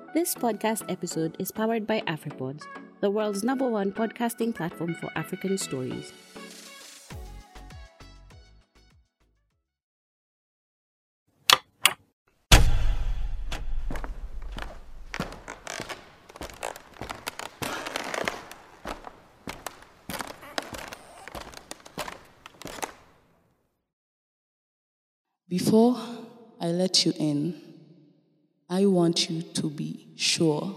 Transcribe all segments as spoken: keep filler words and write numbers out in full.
This podcast episode is powered by AfriPods, the world's number one podcasting platform for African stories. Before I let you in, I want you to be sure,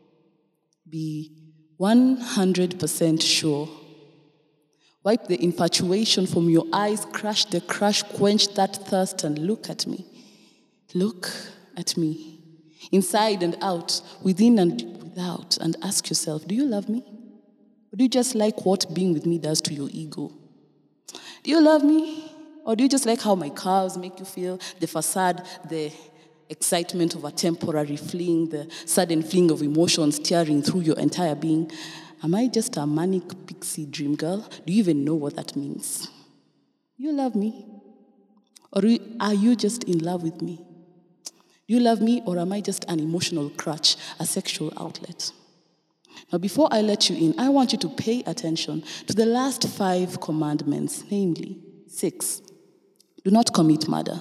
be one hundred percent sure. Wipe the infatuation from your eyes, crush the crush, quench that thirst, and look at me. Look at me, inside and out, within and without, and ask yourself, do you love me? Or do you just like what being with me does to your ego? Do you love me? Or do you just like how my curves make you feel, the facade, the excitement of a temporary fling, the sudden fling of emotions tearing through your entire being? Am I just a manic pixie dream girl? Do you even know what that means? Do you love me? Or are you just in love with me? Do you love me, or am I just an emotional crutch, a sexual outlet? Now, before I let you in, I want you to pay attention to the last five commandments, namely, six. Do not commit murder.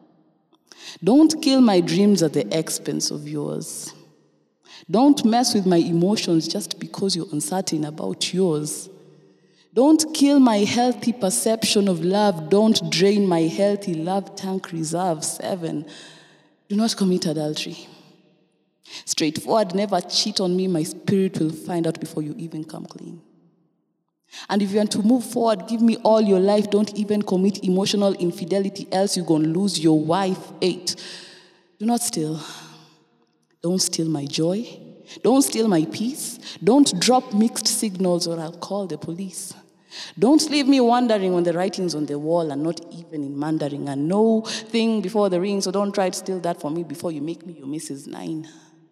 Don't kill my dreams at the expense of yours. Don't mess with my emotions just because you're uncertain about yours. Don't kill my healthy perception of love. Don't drain my healthy love tank reserve. Seven, do not commit adultery. Straightforward, never cheat on me. My spirit will find out before you even come clean. And if you want to move forward, give me all your life. Don't even commit emotional infidelity, else you're going to lose your wife. Eight, do not steal. Don't steal my joy. Don't steal my peace. Don't drop mixed signals or I'll call the police. Don't leave me wondering when the writing's on the wall and not even in Mandarin. And no thing before the ring, so don't try to steal that from me before you make me your Missus Nine.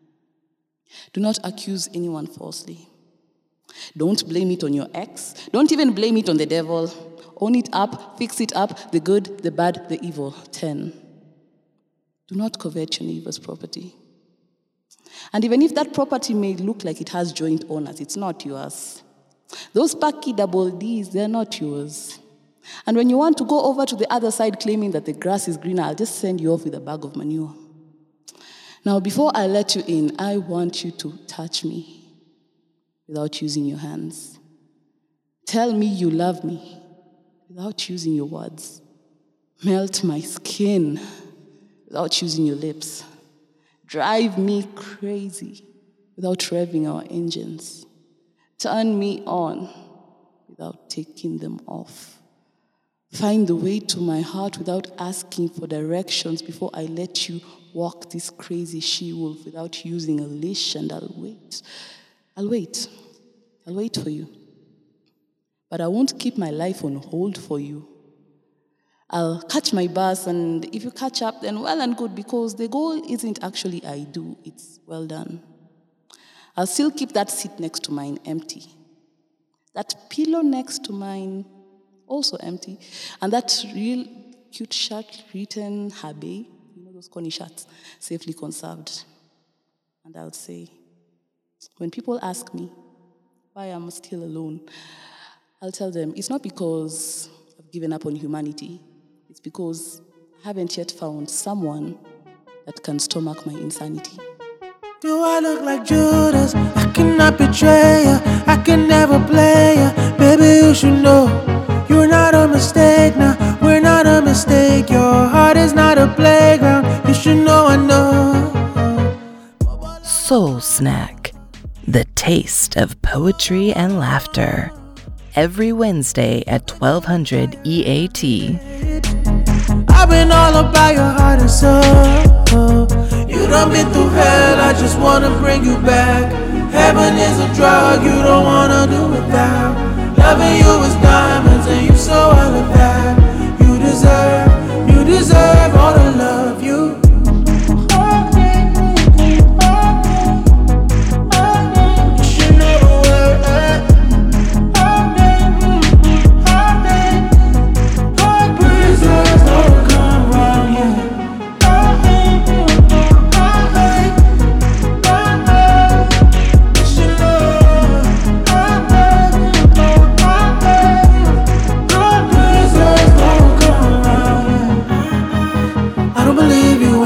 Do not accuse anyone falsely. Don't blame it on your ex. Don't even blame it on the devil. Own it up, fix it up, the good, the bad, the evil. Ten, do not covet your neighbor's property. And even if that property may look like it has joint owners, it's not yours. Those Paki double Ds, they're not yours. And when you want to go over to the other side claiming that the grass is greener, I'll just send you off with a bag of manure. Now, before I let you in, I want you to touch me without using your hands. Tell me you love me without using your words. Melt my skin without using your lips. Drive me crazy without revving our engines. Turn me on without taking them off. Find the way to my heart without asking for directions before I let you walk this crazy she-wolf without using a leash, and I'll wait. I'll wait. I'll wait for you. But I won't keep my life on hold for you. I'll catch my bus, and if you catch up, then well and good, because the goal isn't actually I do, it's well done. I'll still keep that seat next to mine empty. That pillow next to mine also empty. And that real cute shirt written Habe, you know those corny shirts, safely conserved. And I'll say, when people ask me why I'm still alone, I'll tell them it's not because I've given up on humanity. It's because I haven't yet found someone that can stomach my insanity. Do I look like Judas? I cannot betray ya. I can never play ya. Baby, you should know you're not a mistake now. We're not a mistake. Your heart is not a playground. You should know I know. Soul Snack, the taste of poetry and laughter. Every Wednesday at twelve hundred E A T. I've been all about your heart and soul. You done been through hell, I just wanna bring you back. Heaven is a drug you don't wanna do without. Loving you is diamonds and you so all of that. You deserve, you deserve all the love you.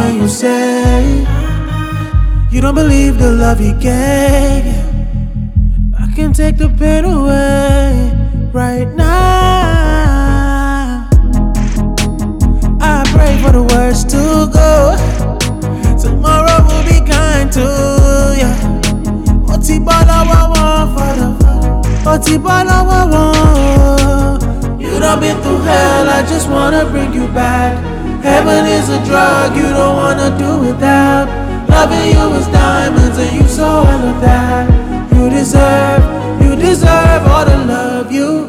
when you say you don't believe the love he gave you. I can take the pain away right now. I pray for the worst to go. Tomorrow will be kind to you. Oti bala wa wa father. Oti bala wa wa. You done been through hell, I just wanna bring you back. Heaven is a drug you don't wanna do without. Loving you is diamonds and you so all of that. You deserve, you deserve all the love you.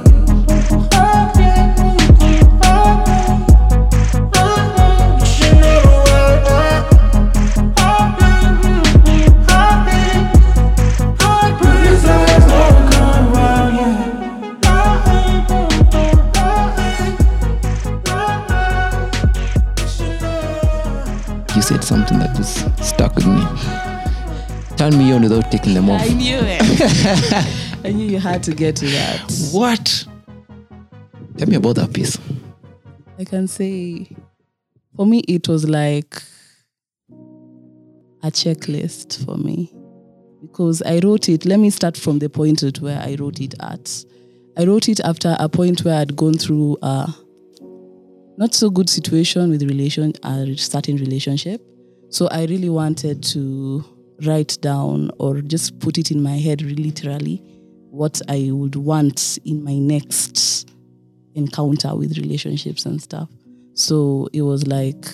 You said something that just stuck with me. Turn me on without taking them off. I knew it. I knew you had to get to that. What? Tell me about that piece. I can say, for me, it was like a checklist for me. Because I wrote it, let me start from the point at where I wrote it at. I wrote it after a point where I'd gone through a not so good situation with relation, a certain relationship. So I really wanted to write down or just put it in my head really literally what I would want in my next encounter with relationships and stuff. So it was like,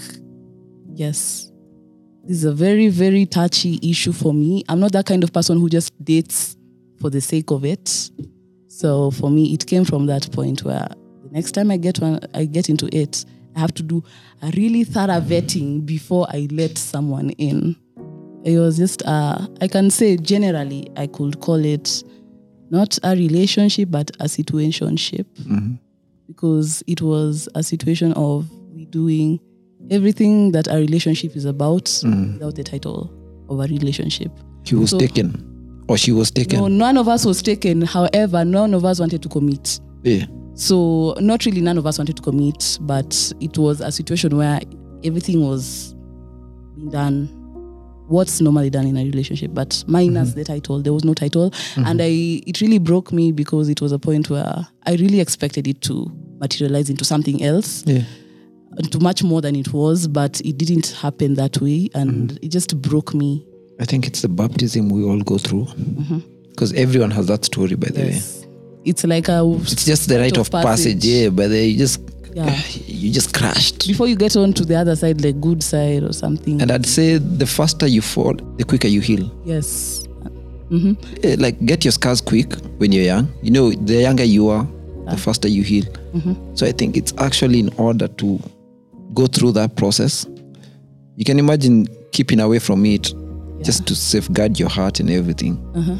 yes, this is a very, very touchy issue for me. I'm not that kind of person who just dates for the sake of it. So for me, it came from that point where the next time I get one, I get into it, I have to do a really thorough vetting before I let someone in. It was just, uh, I can say generally, I could call it not a relationship, but a situationship. Mm-hmm. Because it was a situation of we doing everything that a relationship is about mm. without the title of a relationship. He was so, taken. Or she was taken. No, none of us was taken. However, none of us wanted to commit. Yeah. So not really none of us wanted to commit, but it was a situation where everything was being done, what's normally done in a relationship, but minus mm-hmm. the title. There was no title. Mm-hmm. And I it really broke me because it was a point where I really expected it to materialize into something else. Yeah. To much more than it was, but it didn't happen that way. And mm-hmm. it just broke me. I think it's the baptism we all go through. Because mm-hmm. everyone has that story, by the yes. way. It's like a... It's just the rite of passage. passage, yeah, but you just... Yeah. You just crashed. Before you get on to the other side, the good side or something. And I'd say the faster you fall, the quicker you heal. Yes. Mm-hmm. Yeah, like get your scars quick when you're young. You know, the younger you are, the faster you heal. Mm-hmm. So I think it's actually in order to go through that process. You can imagine keeping away from it yeah. just to safeguard your heart and everything. Uh-huh.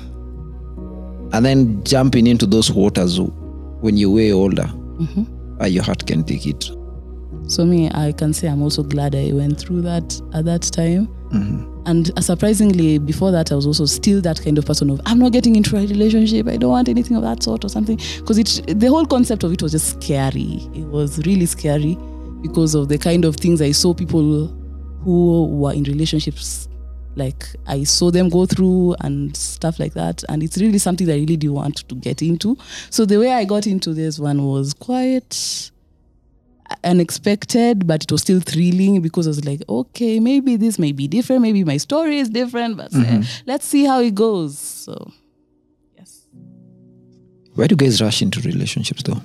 And then jumping into those waters when you're way older. Mm-hmm. Uh, your heart can take it. So me, I can say I'm also glad I went through that at that time. Mm-hmm. And uh, surprisingly, before that, I was also still that kind of person of, I'm not getting into a relationship. I don't want anything of that sort or something. Because it, the whole concept of it was just scary. It was really scary because of the kind of things I saw people who were in relationships, like I saw them go through and stuff like that. And it's really something that I really do want to get into. So the way I got into this one was quite unexpected, but it was still thrilling because I was like, okay, maybe this may be different. Maybe my story is different, but mm-hmm. uh, let's see how it goes. So, yes. Why do guys rush into relationships though?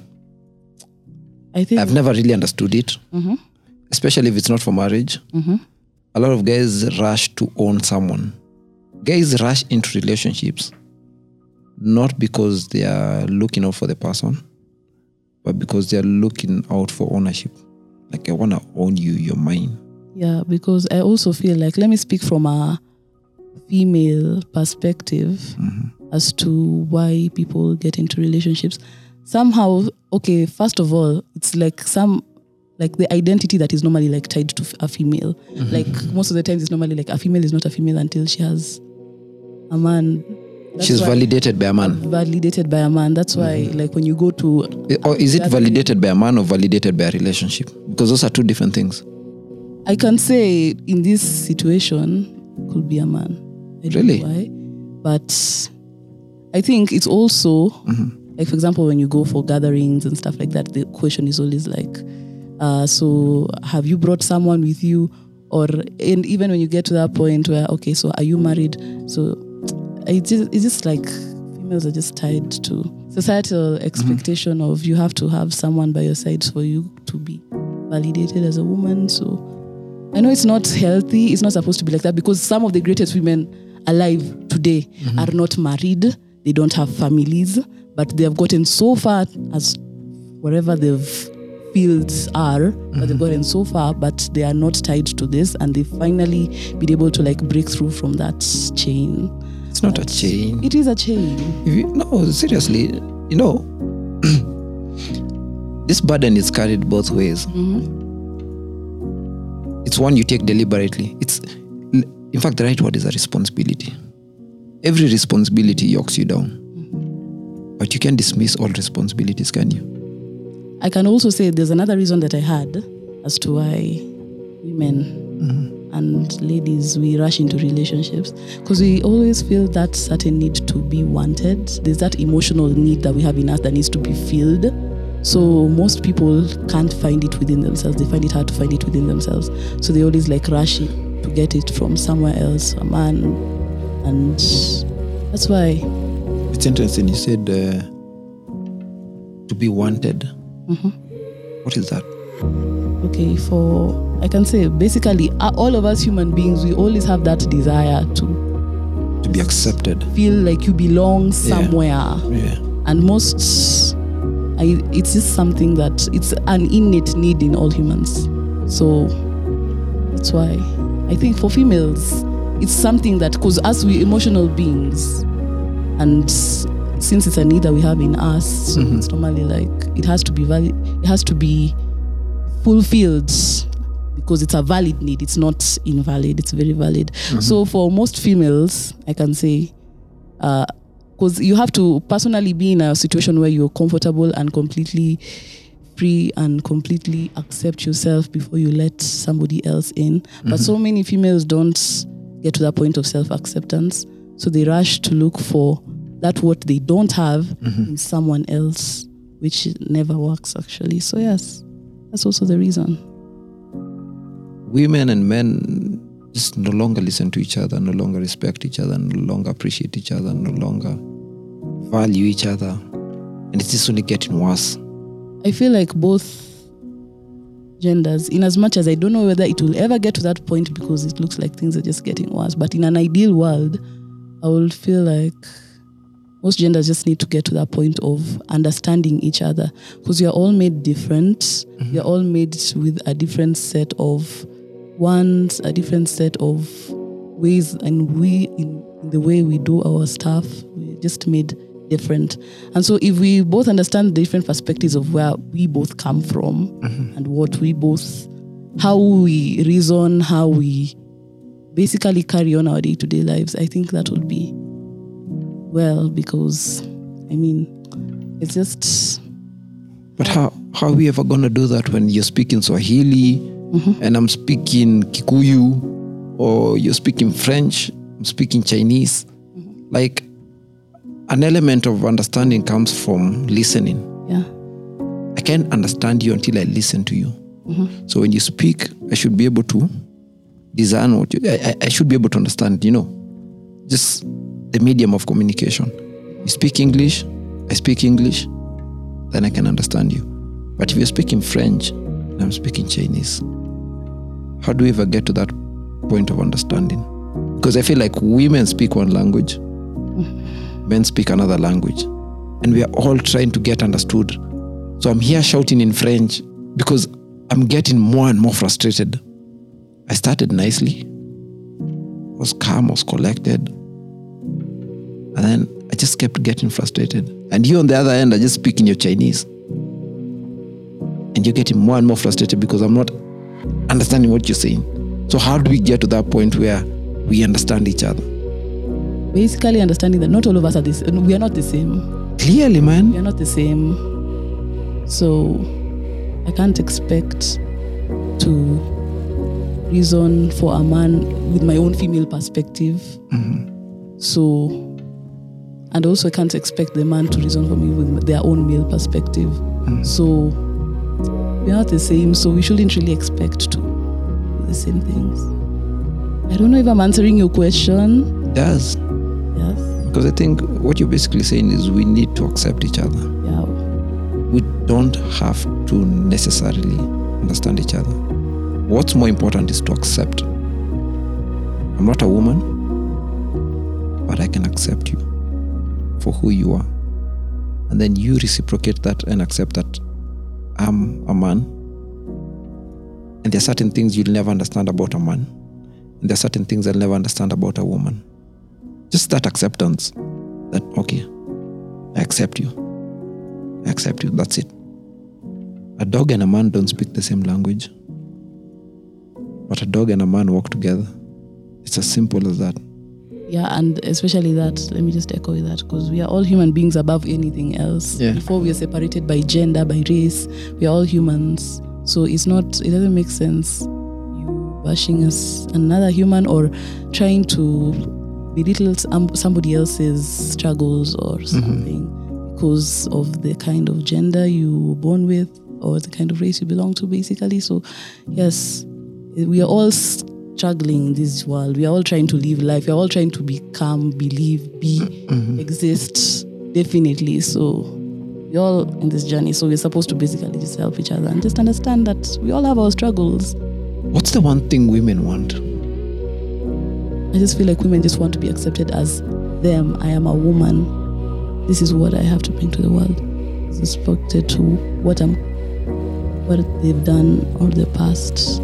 I think I've never really understood it, mm-hmm. especially if it's not for marriage. Mm-hmm. A lot of guys rush to own someone. Guys rush into relationships not because they are looking out for the person, but because they are looking out for ownership. Like, I want to own you, you're mine. Yeah, because I also feel like, let me speak from a female perspective mm-hmm. as to why people get into relationships. Somehow, okay, first of all, it's like some... like the identity that is normally like tied to a female. Mm-hmm. Like most of the times it's normally like a female is not a female until she has a man. That's She's validated by a man. Validated by a man. That's why mm-hmm. like when you go to... Or is it validated by a man or validated by a relationship? Because those are two different things. I can say in this situation could be a man. I don't Really? know why. But I think it's also Mm-hmm. like, for example, when you go for gatherings and stuff like that, the question is always like, uh, so have you brought someone with you? Or and even when you get to that point where, okay, so are you married? So it's just, it's just like females are just tied to societal expectation of you have to have someone by your side for you to be validated as a woman. So I know it's not healthy. It's not supposed to be like that, because some of the greatest women alive today mm-hmm. are not married. They don't have families, but they have gotten so far as wherever they've fields are, mm-hmm. but they've gotten so far, but they are not tied to this, and they finally been able to like break through from that chain. It's not but a chain. It is a chain. If you, no, seriously, you know, this burden is carried both ways. Mm-hmm. It's one you take deliberately. It's, in fact, the right word is a responsibility. Every responsibility yokes you down. Mm-hmm. But you can't dismiss all responsibilities, can you? I can also say there's another reason that I had as to why women mm-hmm. and ladies, we rush into relationships, because we always feel that certain need to be wanted. There's that emotional need that we have in us that needs to be filled. So most people can't find it within themselves. They find it hard to find it within themselves. So they always like rush it to get it from somewhere else, a man. And that's why. It's interesting. You said uh, to be wanted. Mm-hmm. What is that? Okay, for, I can say basically uh, all of us human beings, we always have that desire to to be accepted, feel like you belong somewhere. Yeah. Yeah. And most, I, it's just something that it's an innate need in all humans. So that's why I think for females, it's something that, because as we emotional beings, and since it's a need that we have in us, so mm-hmm. it's normally like it has to be valid, it has to be fulfilled, because it's a valid need. It's not invalid. It's very valid. Mm-hmm. So for most females, I can say, because uh, you have to personally be in a situation where you're comfortable and completely free and completely accept yourself before you let somebody else in. Mm-hmm. But so many females don't get to that point of self-acceptance, so they rush to look for that what they don't have mm-hmm. in someone else, which never works actually. So yes, that's also the reason. Women and men just no longer listen to each other, no longer respect each other, no longer appreciate each other, no longer value each other. And it's just only getting worse. I feel like both genders, in as much as I don't know whether it will ever get to that point, because it looks like things are just getting worse, but in an ideal world, I would feel like most genders just need to get to that point of understanding each other, because you're all made different. Mm-hmm. You're all made with a different set of wants, a different set of ways, and we, in, in the way we do our stuff, we're just made different. And so if we both understand the different perspectives of where we both come from mm-hmm. and what we both, how we reason, how we basically carry on our day-to-day lives, I think that would be well, because I mean, it's just. But how how are we ever gonna do that when you're speaking Swahili mm-hmm. and I'm speaking Kikuyu, or you're speaking French, I'm speaking Chinese? Mm-hmm. Like, an element of understanding comes from listening. Yeah. I can't understand you until I listen to you. Mm-hmm. So when you speak, I should be able to discern what you. I, I should be able to understand. You know, just the medium of communication. You speak English, I speak English, then I can understand you. But if you're speaking French and I'm speaking Chinese, how do we ever get to that point of understanding? Because I feel like women speak one language, men speak another language, and we are all trying to get understood. So I'm here shouting in French because I'm getting more and more frustrated. I started nicely, was calm, was collected, and then I just kept getting frustrated. And you on the other end are just speaking your Chinese. And you're getting more and more frustrated because I'm not understanding what you're saying. So how do we get to that point where we understand each other? Basically understanding that not all of us are the same. We are not the same. Clearly, man. We are not the same. So I can't expect to reason for a man with my own female perspective. Mm-hmm. So, and also I can't expect the man to reason for me with their own male perspective. Mm-hmm. So, we're not the same, so we shouldn't really expect to do the same things. I don't know if I'm answering your question. It does. Yes. Because I think what you're basically saying is we need to accept each other. Yeah. We don't have to necessarily understand each other. What's more important is to accept. I'm not a woman, but I can accept you for who you are. And then you reciprocate that and accept that I'm a man. And there are certain things you'll never understand about a man. And there are certain things I'll never understand about a woman. Just that acceptance that, okay, I accept you. I accept you. That's it. A dog and a man don't speak the same language. But a dog and a man walk together. It's as simple as that. Yeah, and especially that, let me just echo that, because we are all human beings above anything else. Yeah. Before we are separated by gender, by race, we are all humans. So it's not, it doesn't make sense you bashing us another human or trying to belittle some, somebody else's struggles or something mm-hmm. because of the kind of gender you were born with or the kind of race you belong to, basically. So yes, we are all struggling in this world. We are all trying to live life. We are all trying to become, believe, be, mm-hmm. exist, definitely. So we're all in this journey. So we're supposed to basically just help each other and just understand that we all have our struggles. What's the one thing women want? I just feel like women just want to be accepted as them. I am a woman. This is what I have to bring to the world. It's respected to what I'm, what they've done or their past.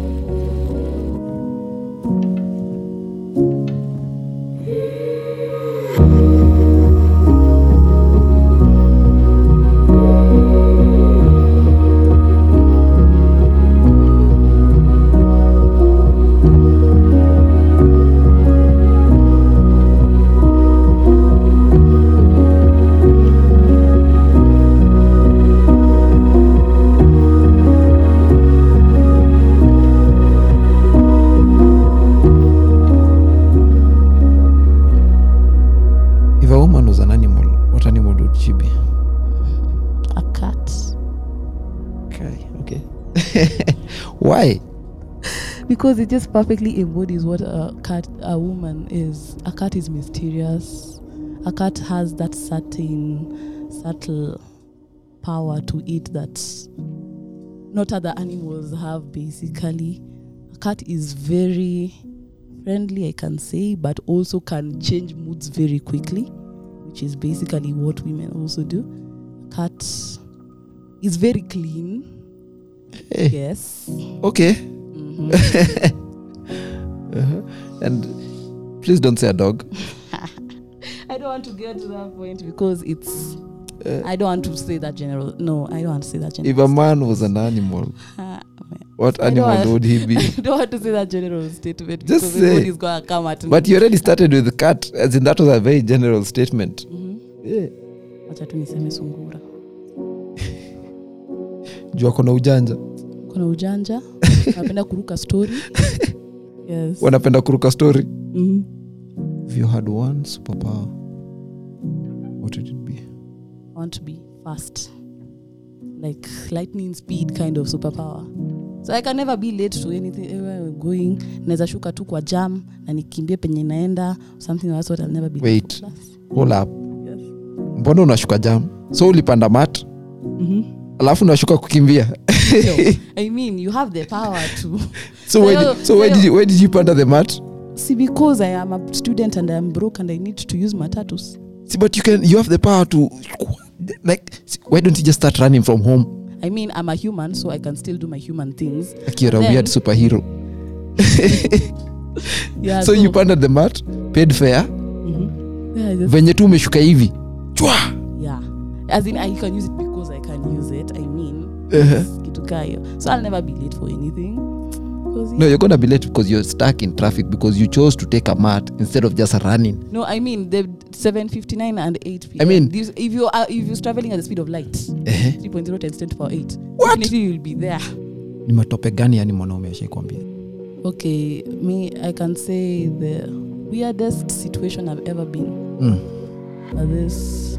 Why? Because it just perfectly embodies what a cat, a woman is. A cat is mysterious. A cat has that certain, subtle power to it that not other animals have, basically. A cat is very friendly, I can say, but also can change moods very quickly, which is basically what women also do. A cat is very clean. Hey. Yes. Okay. Mm-hmm. uh-huh. And please don't say a dog. I don't want to get to that point because it's. Uh, I don't want to say that general. No, I don't want to say that general. If a man was an animal, uh, what I animal want, would he be? I don't want to say that general statement Just because say. everybody's gonna come at me. But you already started with the cat, as in that was a very general statement. Mm-hmm. Yeah. Acha tu niseme sungura. Jua kuna ujanja. Kuna ujanja. Wanapenda kuruka story. Yes. Wanapenda kuruka story. Mm-hmm. If you had one superpower, what would it be? I want to be fast. Like lightning speed kind of superpower. So I can never be late to anything. Everywhere I'm going, naweza shuka tu kwa jam na nikimbie penye naenda, something like that. I'll never be Wait. late. Hold up. Yes. Mbona unashuka jam? So ulipanda mat? Mhm. Alafu unashuka kukimbia. No, I mean, you have the power to. So where did, so where did you where did you panda the mat? See, because I am a student and I am broke and I need to use matatus. See, but you can you have the power to, like, why don't you just start running from home? I mean, I'm a human, so I can still do my human things. Like you're and a then, weird superhero. Yeah. So, so you panded the mat, paid fare. Mm-hmm. Yeah, just, venye tu umeshuka hivi. Chwa! Yeah. As in, I can use it because I can use it. I mean, Uh-huh. so I'll never be late for anything. Yeah. No, you're gonna be late because you're stuck in traffic because you chose to take a mat instead of just running. No, I mean the seven fifty-nine and eight p.m. I mean, These, if you are if you're traveling at the speed of light, uh-huh. three point zero times ten to the power eight. What? Definitely you'll be there. Ni matope gani yani mwanaume ashakwambia? Okay, me, I can say the weirdest situation I've ever been. Mm. Uh, this.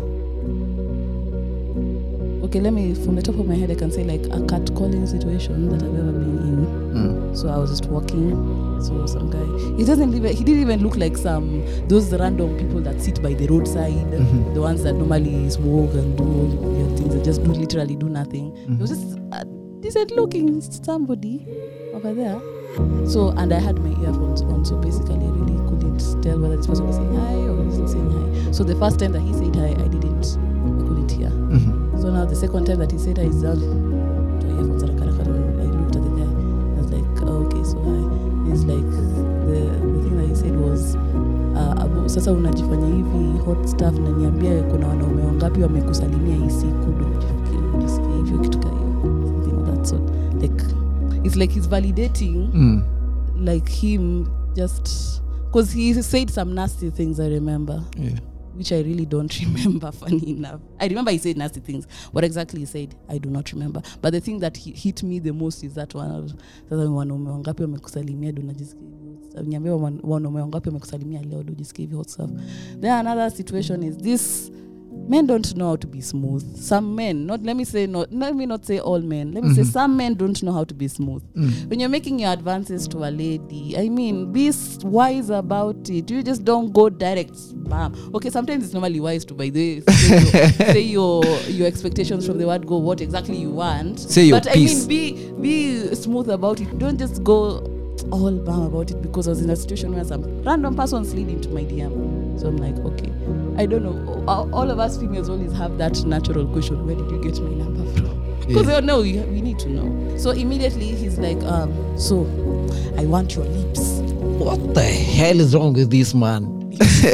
Okay, let me, from the top of my head, I can say like a catcalling situation that I've ever been in. Mm. So I was just walking, so some guy, he doesn't even, he didn't even look like some, those random people that sit by the roadside, mm-hmm. the ones that normally smoke and do weird things, they just do literally do nothing. Mm-hmm. It was just a decent looking somebody over there. So, and I had my earphones on, so basically I really couldn't tell whether this person was saying hi or he wasn't saying hi. So the first time that he said hi, I didn't, I couldn't hear. Mm-hmm. So now the second time that he said hi, is down to earphones, I looked at the guy, I was like, oh, okay, so hi. He's like, the, the thing that he said was, uh, abu, sasa unajifanya hivi hot stuff na niambia kuna wanaume wangapi wamekusalimia hii siku ndo ujisikie hivyo kitu kama hiyo, something of that sort. Like, it's like he's validating mm. like him just because he said some nasty things, I remember. Yeah. Which I really don't remember, funny enough. I remember he said nasty things. What exactly he said, I do not remember. But the thing that he hit me the most is that one. Sasa wanaume wangapi wamekusalimia ndo unajisikia hivyo. Niambia wanaume wangapi wamekusalimia leo ndo unajisikia hivyo stuff. Then another situation is this. Men don't know how to be smooth. Some men, not let me say not let me not say all men. Let me mm-hmm. say some men don't know how to be smooth. Mm. When you're making your advances to a lady, I mean, be wise about it. You just don't go direct. Bam. Okay, sometimes it's normally wise to, by the way, say, your, say your your expectations from the word go what exactly you want. Say your but piece. I mean, be be smooth about it. Don't just go all bam about it because I was in a situation where some random person slid into my D M. So I'm like, okay, I don't know. All of us females always have that natural question, where did you get my number from? Because yeah. no, we, we need to know. So immediately he's like, um, so I want your lips. What the hell is wrong with this man?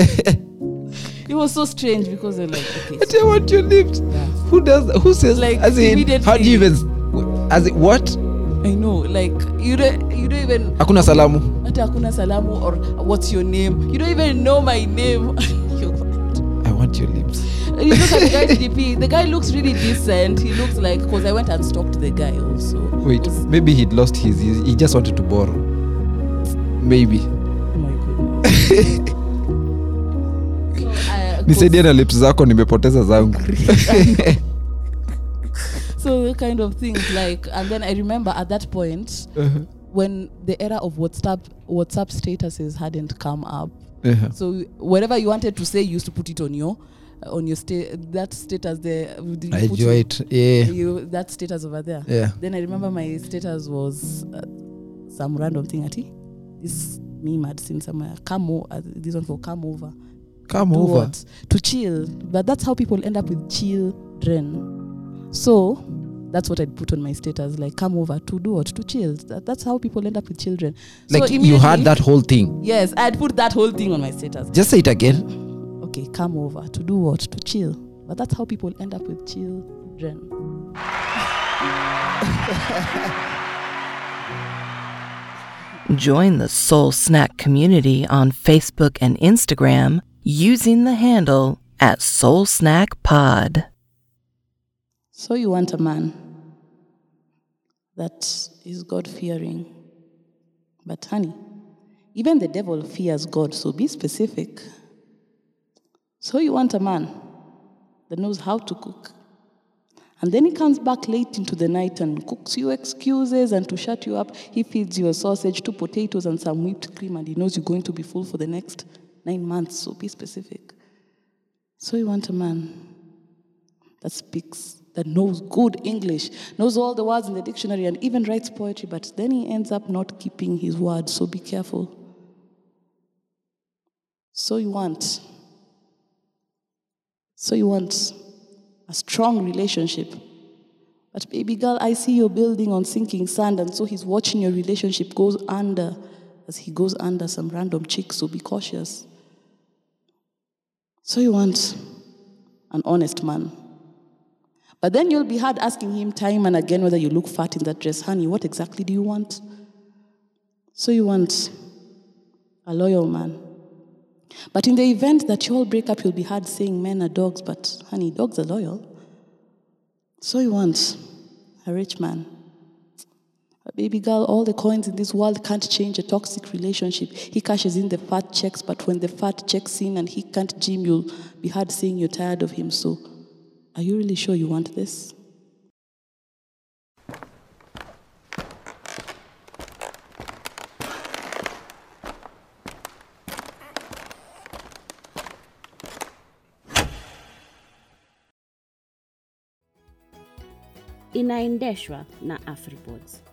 It was so strange because they're like, okay. So I want your lips. Yeah. Who does that? Who says like as in, how do you even, as in, what? I know, like, you don't, you don't even... Hakuna salamu. Ata hakuna salamu or what's your name? You don't even know my name. I want your lips. You look at the guy's D P. The guy looks really decent. He looks like, because I went and stalked the guy also. Wait, maybe he'd lost his, he just wanted to borrow. Maybe. Oh my goodness. so, uh, Nisaidia na lips zako nimepoteza zangu. So the kind of things like, and then I remember at that point uh-huh. when the era of WhatsApp WhatsApp statuses hadn't come up. Uh-huh. So whatever you wanted to say, you used to put it on your on your sta- that status there. I enjoy it. Yeah. You that status over there. Yeah. Then I remember my status was uh, some random thing. Ati this meme I'd seen somewhere. Come over. This one for come over. Come over. What? To chill. But that's how people end up with children. So that's what I'd put on my status, like come over to do what? To chill. That, that's how people end up with children. Like so you had that whole thing. Yes, I'd put that whole thing on my status. Just say it again. Okay, come over to do what? To chill. But that's how people end up with children. Join the Soul Snack community on Facebook and Instagram using the handle at Soul Snack Pod. So you want a man that is God-fearing. But honey, even the devil fears God, so be specific. So you want a man that knows how to cook. And then he comes back late into the night and cooks you excuses, and to shut you up, he feeds you a sausage, two potatoes, and some whipped cream, and he knows you're going to be full for the next nine months, so be specific. So you want a man that speaks, that knows good English, knows all the words in the dictionary, and even writes poetry, but then he ends up not keeping his word, so be careful. So you want, so you want a strong relationship. But baby girl, I see you're building on sinking sand, and so he's watching your relationship goes under as he goes under some random chick, so be cautious. So you want an honest man. But then you'll be hard asking him time and again whether you look fat in that dress. Honey, what exactly do you want? So you want a loyal man. But in the event that you all break up, you'll be hard saying men are dogs, but honey, dogs are loyal. So you want a rich man. Baby girl, all the coins in this world can't change a toxic relationship. He cashes in the fat checks, but when the fat checks in and he can't gym, you'll be hard saying you're tired of him. So, are you really sure you want this? Inaendeshwa na Afripods.